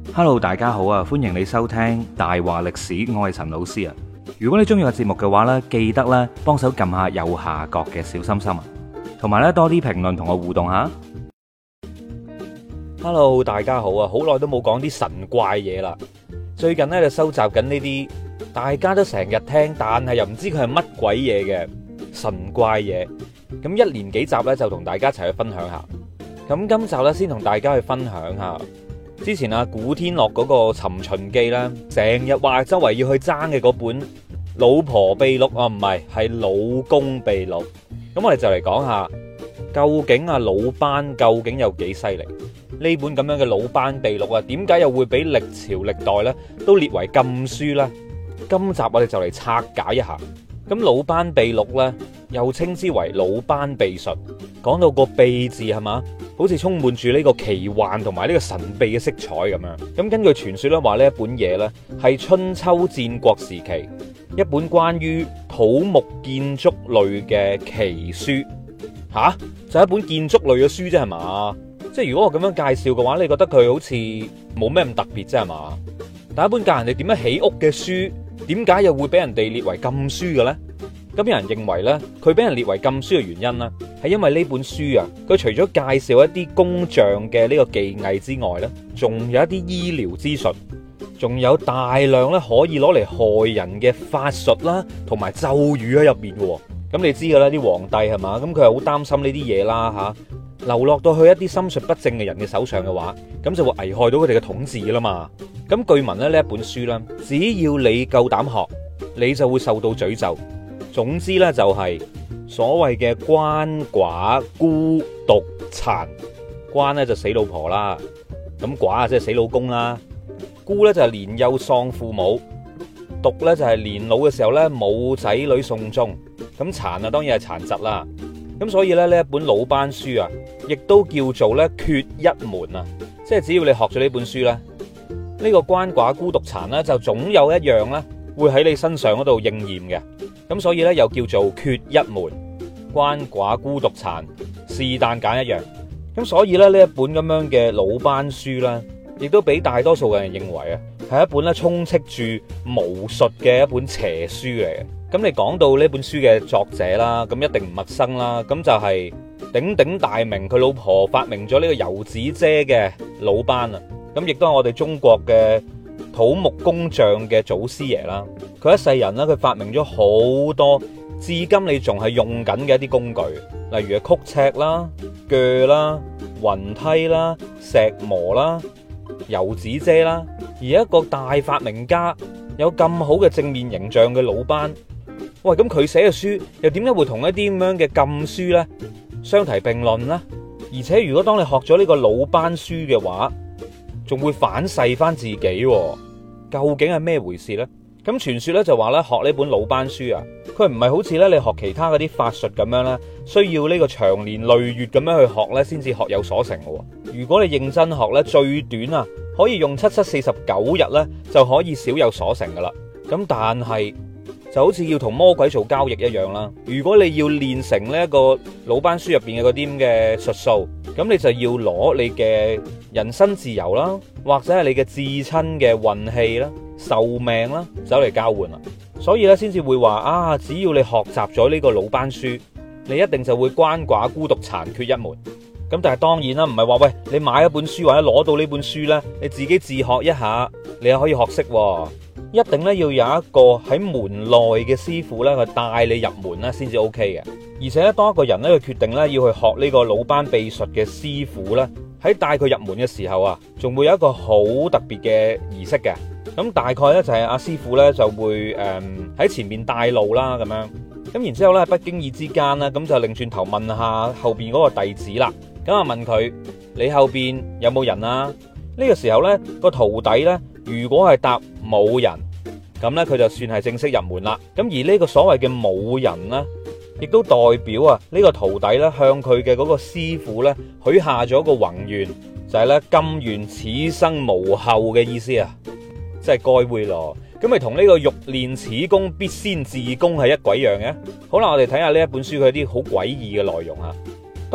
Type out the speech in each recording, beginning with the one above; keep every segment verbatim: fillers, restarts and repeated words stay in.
Hello，大家好啊，歡迎你收聽大話歷史，我係陳老師啊。如果你中意個節目嘅話呢，記得咧幫手撳下右下角嘅小心心啊，同埋咧多啲評論同我互動下。 Hello，大家好啊，好耐都冇講啲神怪嘢啦。最近咧就收集緊呢啲大家都成日聽，但係又唔知佢係乜鬼嘢嘅神怪嘢。咁一連幾集咧就同大家一齊去分享下。咁今集咧先同大家去分享下。之前啊，古天樂嗰個《尋秦記》啦，成日話周圍要去爭嘅嗰本《老婆秘錄》啊，唔係，係《老公秘錄》。咁我哋就嚟講下，究竟啊魯班究竟有幾犀利？呢本咁樣嘅《魯班秘錄》啊，點解又會俾歷朝歷代咧都列為禁書呢？今集我哋就嚟拆解一下。咁《魯班秘錄》咧，又稱之為《魯班秘術》。講到個秘字係嘛，好似充滿住呢個奇幻同埋呢個神秘嘅色彩咁樣。咁根據傳說咧，話呢一本嘢咧係春秋戰國時期一本關於土木建築類嘅奇書。吓，就係一本建築類嘅書啫係嘛？即係如果我咁樣介紹嘅話，你覺得佢好似冇咩咁特別啫係嘛？但一本教人哋點樣起屋嘅書，點解又會俾人哋列為禁書嘅咧？咁有人認為咧，佢俾人列為禁書嘅原因咧，係因為呢本書啊，佢除咗介紹一啲工匠嘅呢個技藝之外咧，仲有一啲醫療資訊，仲有大量咧可以攞嚟害人嘅法術啦，同埋咒語喺入面嘅。咁你知噶啦，啲皇帝係嘛，咁佢係好擔心呢啲嘢啦吓，流落到去一啲心術不正嘅人嘅手上嘅話，咁就會危害到佢哋嘅統治啦嘛。咁據聞咧，呢一本書咧，只要你夠膽學，你就會受到詛咒。總之咧，就係所謂嘅鰥寡孤獨殘。鰥咧就死老婆啦，咁寡啊即係死老公啦，孤咧就係年幼喪父母，獨咧就係年老嘅時候咧冇仔女送終，咁殘啊當然係殘疾啦。咁所以咧呢一本魯班書啊，亦都叫做咧缺一門啊，即係只要你學咗呢本書咧，呢個鰥寡孤獨殘咧就總有一樣咧會喺你身上嗰度應驗嘅。咁所以咧又叫做缺一門，鰥寡孤獨殘，是但揀一樣。咁所以咧呢一本咁樣嘅魯班書咧，亦都俾大多數嘅人認為啊，係一本咧充斥住巫術嘅一本邪書嚟嘅。咁你講到呢本書嘅作者啦，咁一定唔陌生啦，咁就係鼎鼎大名，佢老婆發明咗呢個油紙遮嘅魯班啊。咁亦都係我哋中國嘅土木工匠嘅祖師爺啦。佢一世人咧，佢發明咗好多至今你仲係用緊嘅一啲工具，例如係曲尺啦、鋸啦、雲梯啦、石磨啦、油紙遮啦。而一個大發明家有咁好嘅正面形象嘅魯班，喂，咁佢寫嘅書又點解會同一啲咁樣嘅禁書呢相提並論呢？而且如果當你學咗呢個魯班書嘅話，仲會反噬翻自己，究竟係咩回事呢？咁傳說咧就話咧學呢本魯班書啊，佢唔係好似咧你學其他嗰啲法術咁樣咧，需要呢個長年累月咁樣去學咧先至學有所成嘅。如果你認真學咧，最短啊可以用七七四十九日咧就可以少有所成噶啦。咁但係就好似要同魔鬼做交易一樣啦。如果你要練成呢一個魯班書入邊嘅嗰啲咁嘅術數，咁你就要攞你嘅人身自由啦，或者係你嘅至親嘅運氣啦、壽命啦，走嚟交換啦。所以咧，先至會話啊，只要你學習咗呢個魯班書，你一定就會鰥寡孤獨殘缺一門。咁但係當然啦，唔係話喂你買一本書或者攞到呢本書咧，你自己自學一下，你又可以學識。一定咧要有一個喺門內嘅師傅咧去帶你入門咧，先至 O K 嘅。而且咧，當一個人咧去決定咧要去學呢個魯班秘術嘅師傅咧，喺帶佢入門嘅時候啊，仲會有一個好特別嘅儀式嘅。咁大概咧就係阿師傅咧就會誒喺、嗯、前面帶路啦，咁樣。咁然之後咧喺不經意之間啦，咁就擰轉頭問下後邊嗰個弟子啦。咁啊問佢：你後邊有冇人啊？呢個時候咧個徒弟咧，如果係答冇人，咁咧佢就算係正式入門啦。咁而呢個所謂嘅冇人咧，亦都代表啊呢個徒弟咧向佢嘅嗰個師傅咧許下咗個宏願，就係咧甘願此生無後嘅意思啊，即係該會咯。咁咪同呢個欲練此功必先自宮係一鬼樣嘅。好啦，我哋睇下呢一本書佢啲好詭異嘅內容啊。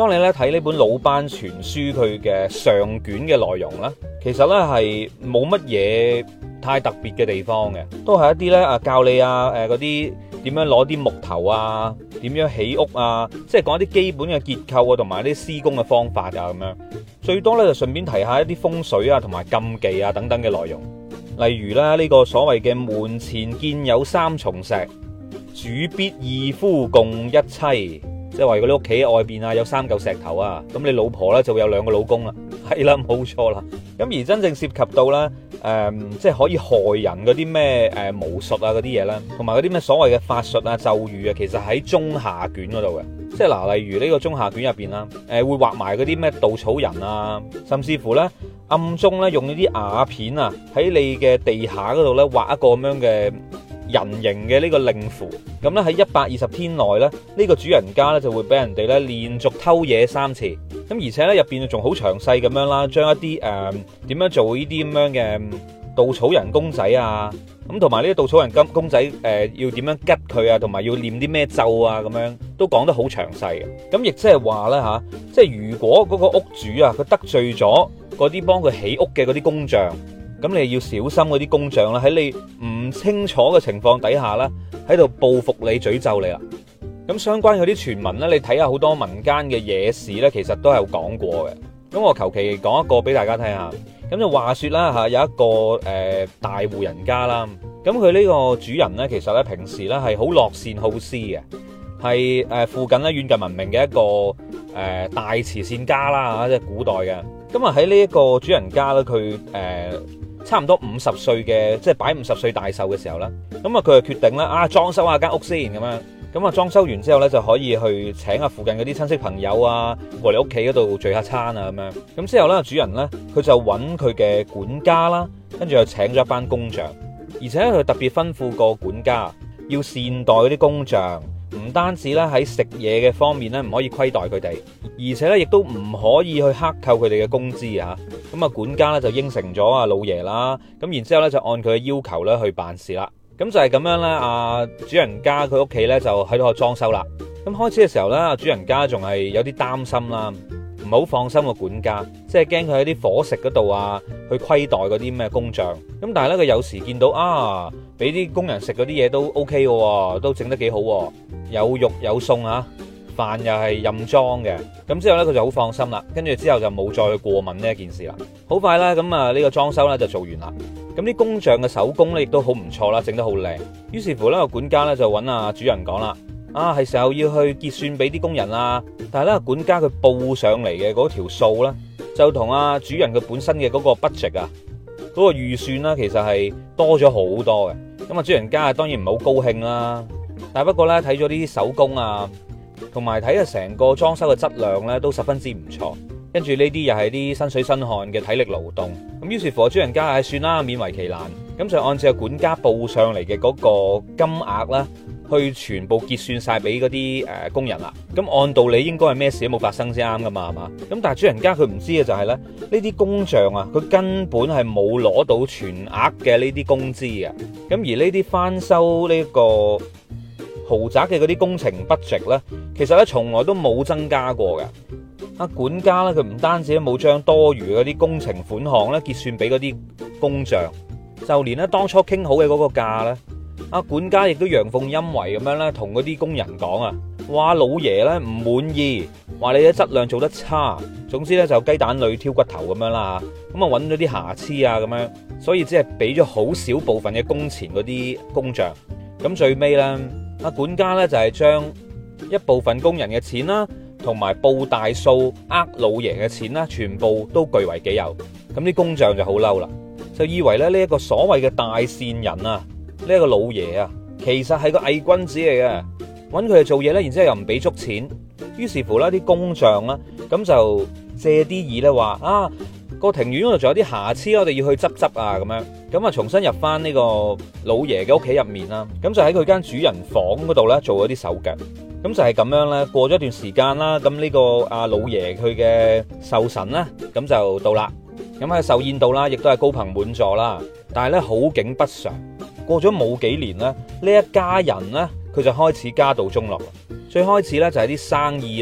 當你咧睇呢本《魯班傳書》佢嘅上卷嘅內容咧，其實咧係冇乜嘢太特別嘅地方嘅，都係一啲咧啊教你啊誒嗰啲點樣攞啲木頭啊，點樣起屋啊，即係講一啲基本嘅結構啊，同埋啲施工嘅方法啊咁樣。最多咧就順便提下一啲風水啊，同埋禁忌啊等等嘅內容。例如咧呢個所謂嘅門前見有三重石，主必二夫共一妻。即係話如果你屋企外邊啊有三嚿石頭啊，咁你老婆咧就會有兩個老公啦，係啦冇錯啦。咁而真正涉及到咧，誒、呃、即係可以害人嗰啲咩誒巫術啊嗰啲嘢咧，同埋嗰啲咩所謂嘅法術啊咒語啊，其實喺中下卷嗰度嘅。即係嗱，例如呢個中下卷入邊啦，誒、呃、會畫埋嗰啲咩稻草人啊，甚至乎咧暗中咧用呢啲瓦片啊喺你嘅地下嗰度咧畫一個咁樣嘅人形嘅呢個令符，咁咧喺一百二十天內咧，呢個主人家咧就會俾人哋咧連續偷嘢三次，咁而且咧入邊仲好詳細咁樣啦，將一啲誒點樣做呢啲咁樣嘅稻草人公仔啊，咁同埋呢啲稻草人金公仔誒、呃、要點樣吉佢啊，同埋要念啲咩咒啊，咁樣都講得好詳細嘅。咁亦即係話咧吓，即係如果嗰個屋主啊佢得罪咗嗰啲幫佢起屋嘅嗰啲工匠，咁你要小心嗰啲工匠啦，喺你唔清楚嘅情況底下啦，喺度報復你、詛咒你啦。咁相關嗰啲傳聞咧，你睇下好多民間嘅野史咧，其實都係有講過嘅。咁我求其講一個俾大家聽下。咁就話說啦嚇，有一個誒、呃、大戶人家啦。咁佢呢個主人咧，其實咧平時咧係好樂善好施嘅，係誒附近咧遠近聞名嘅一個誒、呃、大慈善家啦嚇，即係古代嘅。咁啊喺呢一個主人家咧，佢誒。呃差唔多五十歲嘅，即係擺五十歲大壽嘅時候啦，咁啊佢就決定啦，啊裝修下間屋先咁樣，咁啊裝修完之後咧就可以去請下附近嗰啲親戚朋友啊過嚟屋企嗰度聚下餐啊咁樣，咁之後咧主人咧佢就揾佢嘅管家啦，跟住又請咗一班工匠，而且佢特別吩咐個管家要善待嗰啲工匠。唔單止咧喺食嘢嘅方面咧唔可以虧待佢哋，而且咧亦都唔可以去克扣佢哋嘅工資啊！咁啊管家咧就應承咗阿老爺啦，咁然之後咧就按佢嘅要求咧去辦事啦。咁就係咁樣咧，阿主人家佢屋企咧就喺度裝修啦。咁開始嘅時候咧，阿主人家仲係有啲擔心啦，唔好放心個管家，即係驚佢喺啲伙食嗰度啊去虧待嗰啲咩工匠。咁但係咧佢有時見到啊，俾啲工人食嗰啲嘢都 OK 嘅，都整得幾好。有肉有餸啊，飯又係任裝嘅，咁之後呢，佢就好放心啦，跟住之後就冇再去過問呢一件事啦。好快啦，咁啊呢個裝修呢就做完啦，咁啲工匠嘅手工呢亦都好唔錯啦，整得好靚。於是乎呢個管家呢就揾阿主人講啦，啊係時候要去結算俾啲工人啦。但係呢管家佢報上嚟嘅嗰條數呢，就同阿主人佢本身嘅嗰個 budget 啊，嗰個預算啦，其實係多咗好多嘅。咁啊主人家當然唔係好高興啦。但不過咧，睇咗呢啲手工啊，同埋睇下成個裝修嘅質量咧，都十分之唔錯。跟住呢啲又係啲身水身汗嘅體力勞動。咁於是乎，主人家係算啦，勉為其難。咁就按照管家報上嚟嘅嗰個金額啦，去全部結算晒俾嗰啲誒工人啦。咁按道理應該係咩事都冇發生先啱噶嘛，係嘛？咁但係主人家佢唔知嘅就係咧，呢啲工匠啊，佢根本係冇攞到全額嘅呢啲工資嘅。咁而呢啲翻修呢個豪宅嘅嗰啲工程 budget 咧，其實咧從來都冇增加過嘅。阿管家咧，佢唔單止冇將多餘嗰啲工程款項咧結算俾嗰啲工匠，就連咧當初傾好嘅嗰個價咧，阿管家亦都陽奉陰違咁樣咧，同嗰啲工人講啊，話老爺咧唔滿意，話你嘅質量做得差，總之咧就雞蛋裏挑骨頭咁樣啦嚇，咁啊揾咗啲瑕疵啊咁樣，所以只係俾咗好少部分嘅工錢嗰啲工匠。咁最尾咧，阿管家咧就係將一部分工人嘅錢啦，同埋報大數呃老爺嘅錢啦，全部都據為己有。咁啲工匠就好嬲啦，就以為咧呢一個所謂嘅大善人啊，呢一個老爺啊，其實係個偽君子嚟嘅，揾佢哋做嘢咧，然之後又唔俾足錢。於是乎咧，啲工匠啦，咁就借啲意咧話啊，個庭院嗰度仲有啲瑕疵，我哋要去執執啊咁樣。咁啊，重新入翻呢個老爺嘅屋企入面啦。咁就喺佢間主人房嗰度咧做咗啲手腳。咁就係咁樣咧，過咗一段時間啦，咁呢個阿老爺佢嘅壽辰啦，咁就到啦。咁喺壽宴度啦，亦都係高朋滿座啦。但係咧好景不常，過咗冇幾年咧，呢一家人咧佢就開始家道中落。最開始咧就係啲生意咧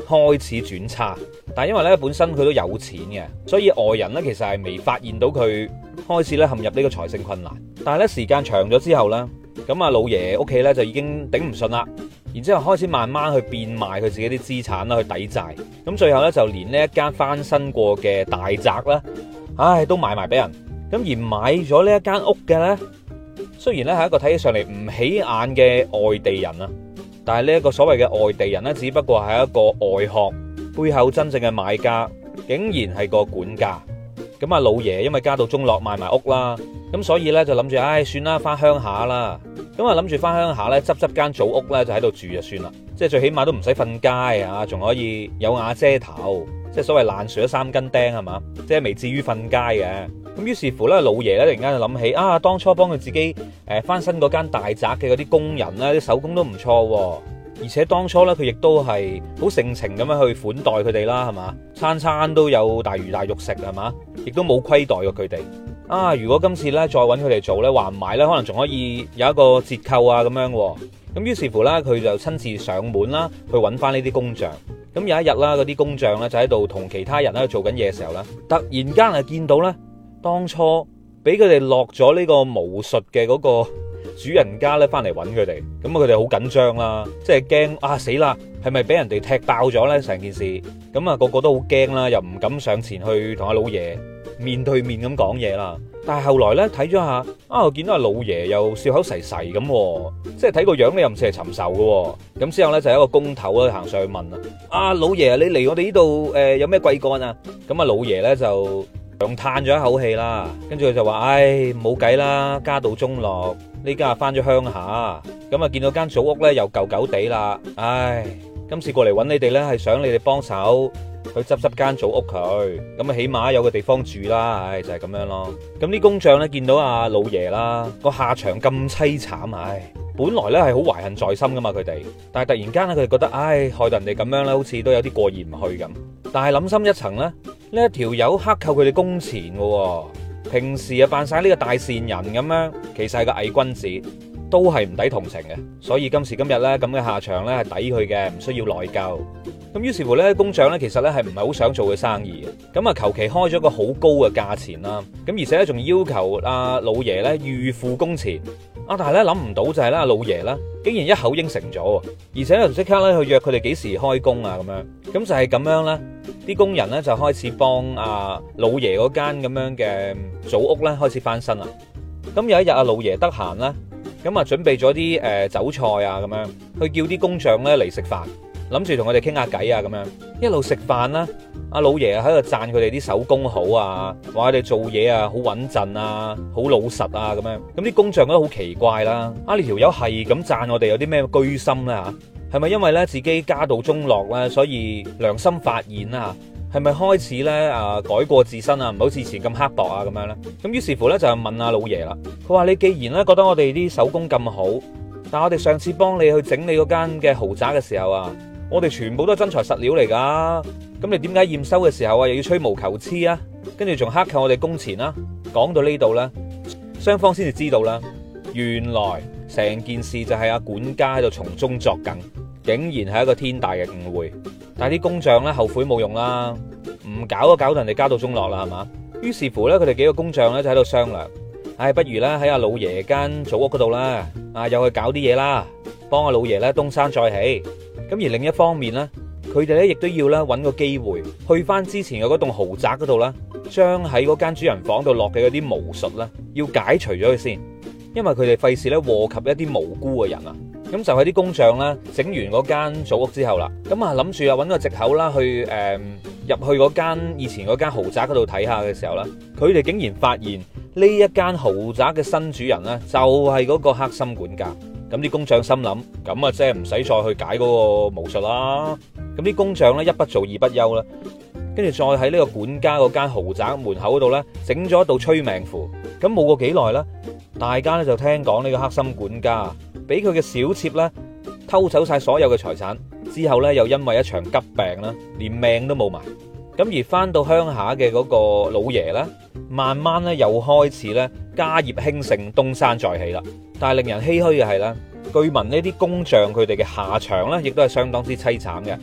開始轉差。但係因為咧本身佢都有錢嘅，所以外人咧其實係未發現到佢開始咧陷入呢個財政困難。但係咧時間長咗之後咧，咁啊老爺屋企咧就已經頂唔順啦，然之後開始慢慢去變賣佢自己啲資產啦，去抵債。咁最後咧就連呢一間翻新過嘅大宅啦，唉都賣埋俾人。咁而買咗呢一間屋嘅咧，雖然咧係一個睇起上嚟唔起眼嘅外地人啊，但係呢一個所謂嘅外地人咧，只不過係一個外殼，背後真正嘅買家竟然係個管家。咁啊老爺因為家道中落賣埋屋啦，咁所以咧就諗住唉算啦，翻鄉下啦。咁啊諗住翻鄉下咧執執間祖屋咧就喺度住就算啦，即係最起碼都唔使瞓街啊，仲可以有瓦遮頭，即係所謂爛樹都三根釘係嘛，即係未至於瞓街嘅。咁於是乎咧，老爺咧突然間就諗起啊，當初幫佢自己誒翻新嗰間大宅嘅嗰啲工人咧，啲手工都唔錯，而且當初咧佢亦都係好盛情咁樣去款待佢哋啦，係嘛，餐餐都有大魚大肉食係嘛，亦都冇虧待過佢哋。啊，如果今次咧再揾佢哋做咧，話唔埋咧，可能仲可以有一個折扣啊咁樣。咁於是乎咧，佢就親自上門啦，去揾翻呢啲工匠。咁有一日啦，嗰啲工匠咧就喺度同其他人喺度做緊嘢嘅時候咧，突然間係見到咧，當初俾佢哋落咗呢個巫術嘅嗰個主人家咧翻嚟揾佢哋，咁啊佢哋好緊張啦，即係驚啊死啦，係咪俾人哋踢爆咗咧成件事？咁啊個個都好驚啦，又唔敢上前去同阿老爺面對面咁講嘢啦。但係後來咧睇咗下，啊我見到阿老爺又笑口噬噬咁，即係睇個樣咧又唔似係尋仇嘅。咁之後咧就有一個工頭咧行上去問啦：啊老爺你嚟我哋呢度誒有咩貴幹啊？咁啊老爺咧就長嘆咗一口氣啦，跟住佢就話：唉冇計啦，家道中落，呢家翻咗鄉下，咁啊見到間祖屋咧又舊舊地啦，唉，今次過嚟揾你哋咧係想你哋幫手去執執間祖屋佢，咁啊起碼有個地方住啦，唉就係咁樣咯。咁啲工匠咧見到阿老爺啦個下場咁凄慘，唉，本來咧係好懷恨在心噶嘛佢哋，但係突然間咧佢哋覺得唉害到人哋咁樣咧，好似都有啲過意唔去咁。但係諗深一層咧，呢一條友克扣佢哋工錢嘅，平時啊扮晒呢個大善人咁樣，其實係個偽君子，都係唔抵同情嘅。所以今時今日咧咁嘅下場咧係抵佢嘅，唔需要內疚。咁於是乎咧，工匠咧其實咧係唔係好想做嘅生意嘅，咁啊求其開咗個好高嘅價錢啦，咁而且咧仲要求阿老爺咧預付工錢。啊！但係咧諗唔到就係咧，老爺咧竟然一口應承咗，而且又即刻咧去約佢哋幾時開工啊咁樣。咁就係咁樣咧，啲工人咧就開始幫阿老爺嗰間咁樣嘅祖屋咧開始翻新啦。咁有一日阿老爺得閒啦，咁啊準備咗啲誒酒菜啊咁樣，去叫啲工匠咧嚟食飯，諗住同佢哋傾下偈啊咁樣。一路食飯啦，阿老爺喺度讚佢哋啲手工好啊，話佢哋做嘢啊好穩陣啊，好老實啊咁樣。咁啲工匠都好奇怪啦，啊呢條友係咁讚我哋有啲咩居心咧吓？係咪因為咧自己家道中落咧，所以良心發現啊？係咪開始咧啊改過自身啊，唔好似以前咁刻薄啊咁樣咧？咁於是乎咧就問阿老爺啦，佢話你既然咧覺得我哋啲手工咁好，但係我哋上次幫你去整你嗰間嘅豪宅嘅時候啊，我哋全部都係真材實料嚟噶，咁你點解驗收嘅時候啊又要吹毛求疵啊？跟住仲克扣我哋工錢啦？講到呢度咧，雙方先至知道啦，原來成件事就係阿管家喺度從中作梗，竟然係一個天大嘅誤會。但係啲工匠咧後悔冇用啦，唔搞都搞到人哋家道中落啦，係嘛？於是乎咧，佢哋幾個工匠咧就喺度商量，唉，不如咧喺阿老爺間祖屋嗰度啦，啊又去搞啲嘢啦，幫阿老爺咧東山再起。咁而另一方面咧，佢哋咧亦都要咧揾個機會去翻之前嘅嗰棟豪宅嗰度啦，將喺嗰間主人房度落嘅嗰啲巫術咧，要解除咗佢先，因為佢哋費事咧禍及一啲無辜嘅人啊。咁就喺啲工匠咧整完嗰間祖屋之後啦，咁啊諗住啊揾個藉口啦去誒入去嗰間以前嗰間豪宅嗰度睇下嘅時候啦，佢哋竟然發現呢一間豪宅嘅新主人咧就係嗰個黑心管家。咁啲工匠心諗，咁啊即係唔使再去解嗰個巫術啦。咁啲工匠咧一不做二不休啦，跟住再喺呢個管家嗰間豪宅門口嗰度咧整咗一道催命符。咁冇過幾耐啦，大家咧就聽講呢個黑心管家俾佢嘅小妾咧偷走晒所有嘅財產，之後咧又因為一場急病啦，連命都冇埋。咁而翻到鄉下嘅嗰個老爺咧，慢慢咧又開始咧家業興盛，東山再起啦。但係令人唏噓嘅係咧，據聞呢啲工匠佢哋嘅下場咧，亦都係相當之凄慘嘅。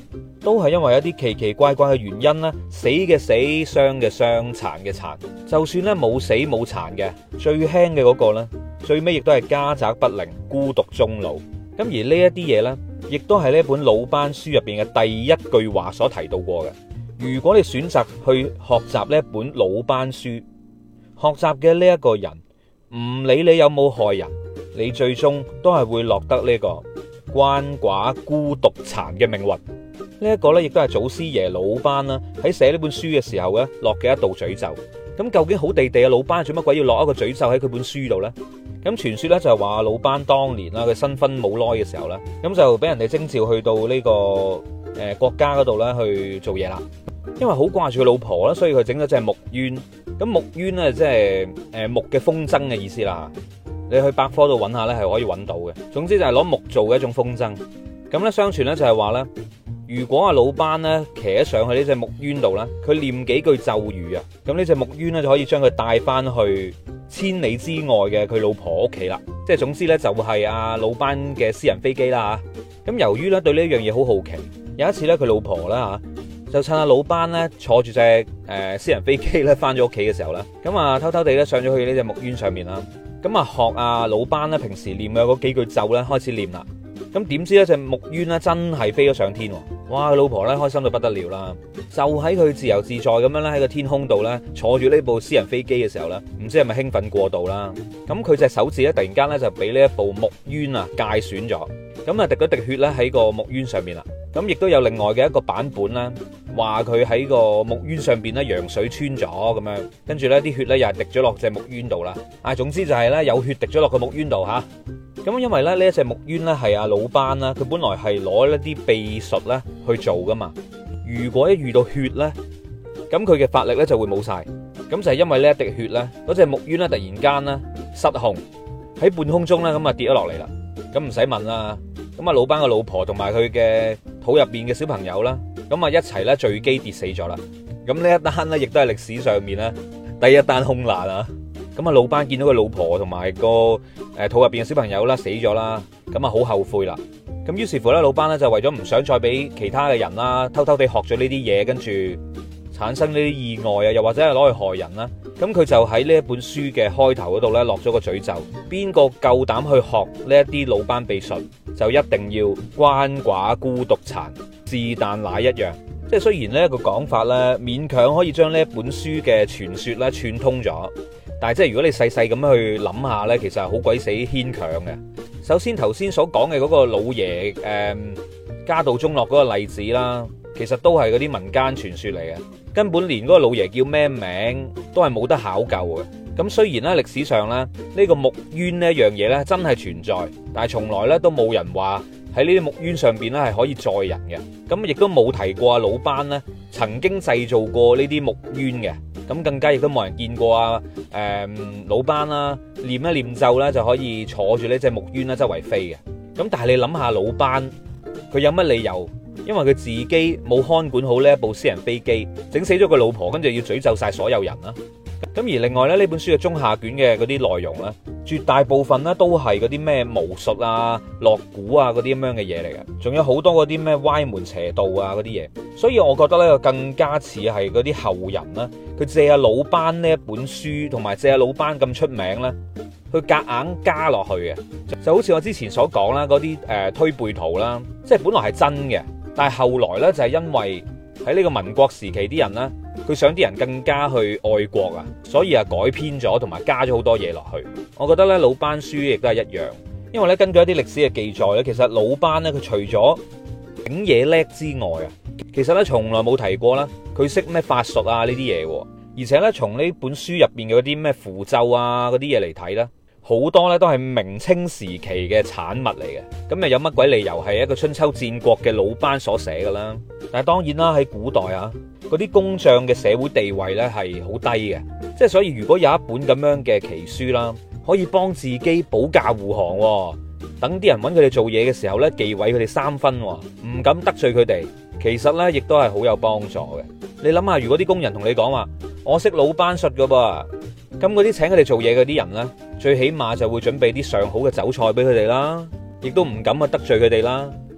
都係因為一啲奇奇怪怪嘅原因咧，死嘅死，傷嘅傷，殘嘅殘。就算咧冇死冇殘嘅，最輕嘅嗰個咧，最尾亦都係家宅不寧，孤獨終老。咁而呢一啲嘢呢，亦都係呢本魯班書入邊嘅第一句話所提到過嘅。如果你選擇去學習呢一本魯班書，學習嘅呢一個人，唔理你有冇害人，你最終都係會落得呢個鰥寡孤獨殘嘅命運。呢一個呢，亦都係祖師爺魯班啦喺寫呢本書嘅時候呢落嘅一道詛咒。咁究竟好地地嘅魯班做乜鬼要落一個詛咒喺佢本書度呢？咁傳說咧就係話魯班當年啦，佢新婚冇耐嘅時候咧，咁就俾人哋徵召去到呢個誒國家嗰度咧去做嘢啦。因為好掛住佢老婆啦，所以佢整咗隻木鳶。咁木鳶咧即係誒木嘅風箏嘅意思啦。你去百科度揾下咧係可以揾到嘅。總之就係攞木做嘅一種風箏。咁咧相傳咧就係話咧，如果阿魯班咧騎咗上去呢隻木鳶度咧，佢念幾句咒語啊，咁呢隻木鳶咧就可以將佢帶翻去千里之外嘅佢老婆屋企啦。即係總之咧就係阿魯班嘅私人飛機啦吓。咁由於咧對呢一樣嘢好好奇，有一次咧佢老婆啦吓，就趁阿魯班咧坐住隻誒私人飛機咧翻咗屋企嘅時候咧，咁啊偷偷地咧上咗去呢隻木鳶上面啦。咁啊學阿魯班咧平時念嘅嗰幾句咒咧開始念啦。咁點知咧隻木鳶咧真係飛咗上天，哇！佢老婆咧開心到不得了啦，就喺佢自由自在咁樣咧喺個天空度咧坐住呢部私人飛機嘅時候咧，唔知係咪興奮過度啦？咁佢隻手指咧突然間咧就俾呢一部木鳶啊界損咗，咁啊滴咗滴血咧喺個木鳶上面啦。咁亦都有另外嘅一個版本啦，話佢喺個木鳶上邊咧羊水穿咗咁樣，跟住咧啲血咧又係滴咗落隻木鳶度啦。啊，總之就係咧有血滴咗落個木鳶度吓。咁因為咧呢一隻木鳶咧係阿魯班啦，佢本來係攞一啲秘術咧去做噶嘛。如果一遇到血咧，咁佢嘅法力咧就會冇晒。咁就係因為呢一滴血咧，嗰隻木鳶咧突然間咧失控喺半空中咧咁啊跌咗落嚟啦。咁唔使問啦，咁啊魯班嘅老婆同埋佢嘅肚入邊嘅小朋友啦，咁啊一齊咧墜機跌死咗啦。咁呢一單咧亦都係歷史上面咧第一單空難啊！咁啊，魯班見到個老婆同埋個誒肚入邊嘅小朋友啦死咗啦，咁啊好後悔啦。咁於是乎咧，魯班咧就為咗唔想再俾其他嘅人啦偷偷地學咗呢啲嘢，跟住產生呢啲意外啊，又或者係攞去害人啦。咁佢就喺呢一本書嘅開頭嗰度咧落咗個詛咒：邊個夠膽去學呢一啲魯班秘術，就一定要鰥寡孤獨殘，是但哪一樣。即係雖然呢一個講法咧勉強可以將呢一本書嘅傳說咧串通咗。但係即係如果你細細咁樣去諗下呢，其實係好鬼死牽強嘅。首先頭先所講嘅嗰個老爺誒、嗯、家道中落嗰個例子啦，其實都係嗰啲民間傳說嚟嘅，根本連嗰個老爺叫咩名都係冇得考究嘅。咁雖然咧歷史上咧呢、呢個木鳶呢一樣嘢呢真係存在，但係從來咧都冇人話喺呢啲木鳶上邊咧係可以載人嘅。咁亦都冇提過阿魯班呢曾經製造過呢啲木鳶嘅。咁更加亦都冇人見過啊！誒、嗯，魯班啦，念一念咒啦，就可以坐住呢隻木鳶啦，周圍飛嘅。咁但係你諗下，魯班佢有乜理由？因為佢自己冇看管好呢一部私人飛機，整死咗個老婆，跟住要詛咒晒所有人啦。咁而另外咧，呢本書嘅中下卷嘅嗰啲內容咧，絕大部分咧都係嗰啲咩巫術啊、落蠱啊嗰啲咁樣嘅嘢嚟嘅，仲有好多嗰啲咩歪門邪道啊嗰啲嘢。所以我覺得咧，更加似係嗰啲後人啦，佢借阿魯班呢一本書，同埋借阿魯班咁出名咧，去夾硬加落去嘅，就好似我之前所講啦，嗰啲誒推背圖啦，即係本來係真嘅，但係後來咧就係因為喺呢個民國時期啲人咧，佢想啲人更加去愛國啊，所以啊改編咗同埋加咗好多嘢落去。我覺得咧魯班書亦都係一樣，因為咧根據一啲歷史嘅記載咧，其實魯班咧佢除咗整嘢叻之外啊，其實咧從來冇提過啦，佢識咩法術啊呢啲嘢，而且咧從呢本書入邊嘅嗰啲咩符咒啊嗰啲嘢嚟睇咧，好多咧都係明清時期嘅產物嚟嘅，咁又有乜鬼理由係一個春秋戰國嘅魯班所寫嘅啦？但係當然啦，喺古代啊，嗰啲工匠嘅社會地位咧係好低嘅，即係所以如果有一本咁樣嘅奇書啦，可以幫自己保駕護航，等啲人揾佢哋做嘢嘅時候咧，忌諱佢哋三分，唔敢得罪佢哋，其實咧亦都係好有幫助嘅。你諗下，如果啲工人同你講話，我識魯班術噶噃，咁嗰啲請佢哋做嘢嗰啲人咧，最起碼就會準備啲上好嘅酒菜俾佢哋啦，亦都唔敢去得罪佢哋啦。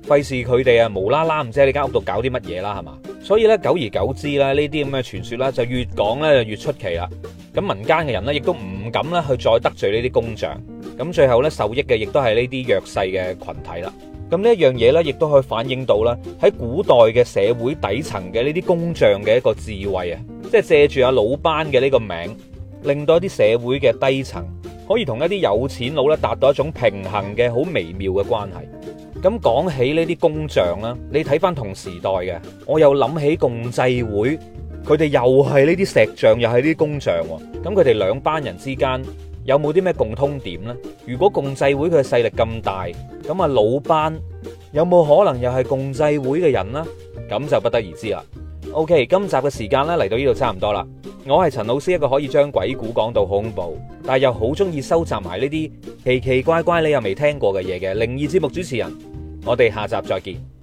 費事佢哋啊無啦啦唔知喺你間屋度搞啲乜嘢啦，係嘛？所以咧，久而久之咧，呢啲咁嘅傳說咧就越講咧就越出奇啦。咁民間嘅人咧亦都唔敢咧去再得罪呢啲工匠。咁最後咧受益嘅亦都係呢啲弱勢嘅群體啦。咁呢一樣嘢咧，亦都可以反映到啦喺古代嘅社會底層嘅呢啲工匠嘅一個智慧啊，即係借住阿魯班嘅呢個名，令到一啲社會嘅低層可以同一啲有錢佬咧達到一種平衡嘅好微妙嘅關係。咁講起呢啲工匠啦，你睇翻同時代嘅，我又諗起共濟會，佢哋又係呢啲石匠，又係呢啲工匠。咁佢哋兩班人之間有冇啲咩共通點呢？如果共濟會佢嘅勢力咁大，咁啊魯班有冇可能又係共濟會嘅人呢？咁就不得而知啦。OK， 今集嘅時間咧嚟到呢度差唔多啦。我係陳老師，一個可以將鬼故講到好恐怖，但係又好中意收集埋呢啲奇奇怪怪你又未聽過嘅嘢嘅靈異節目主持人。我哋下集再見。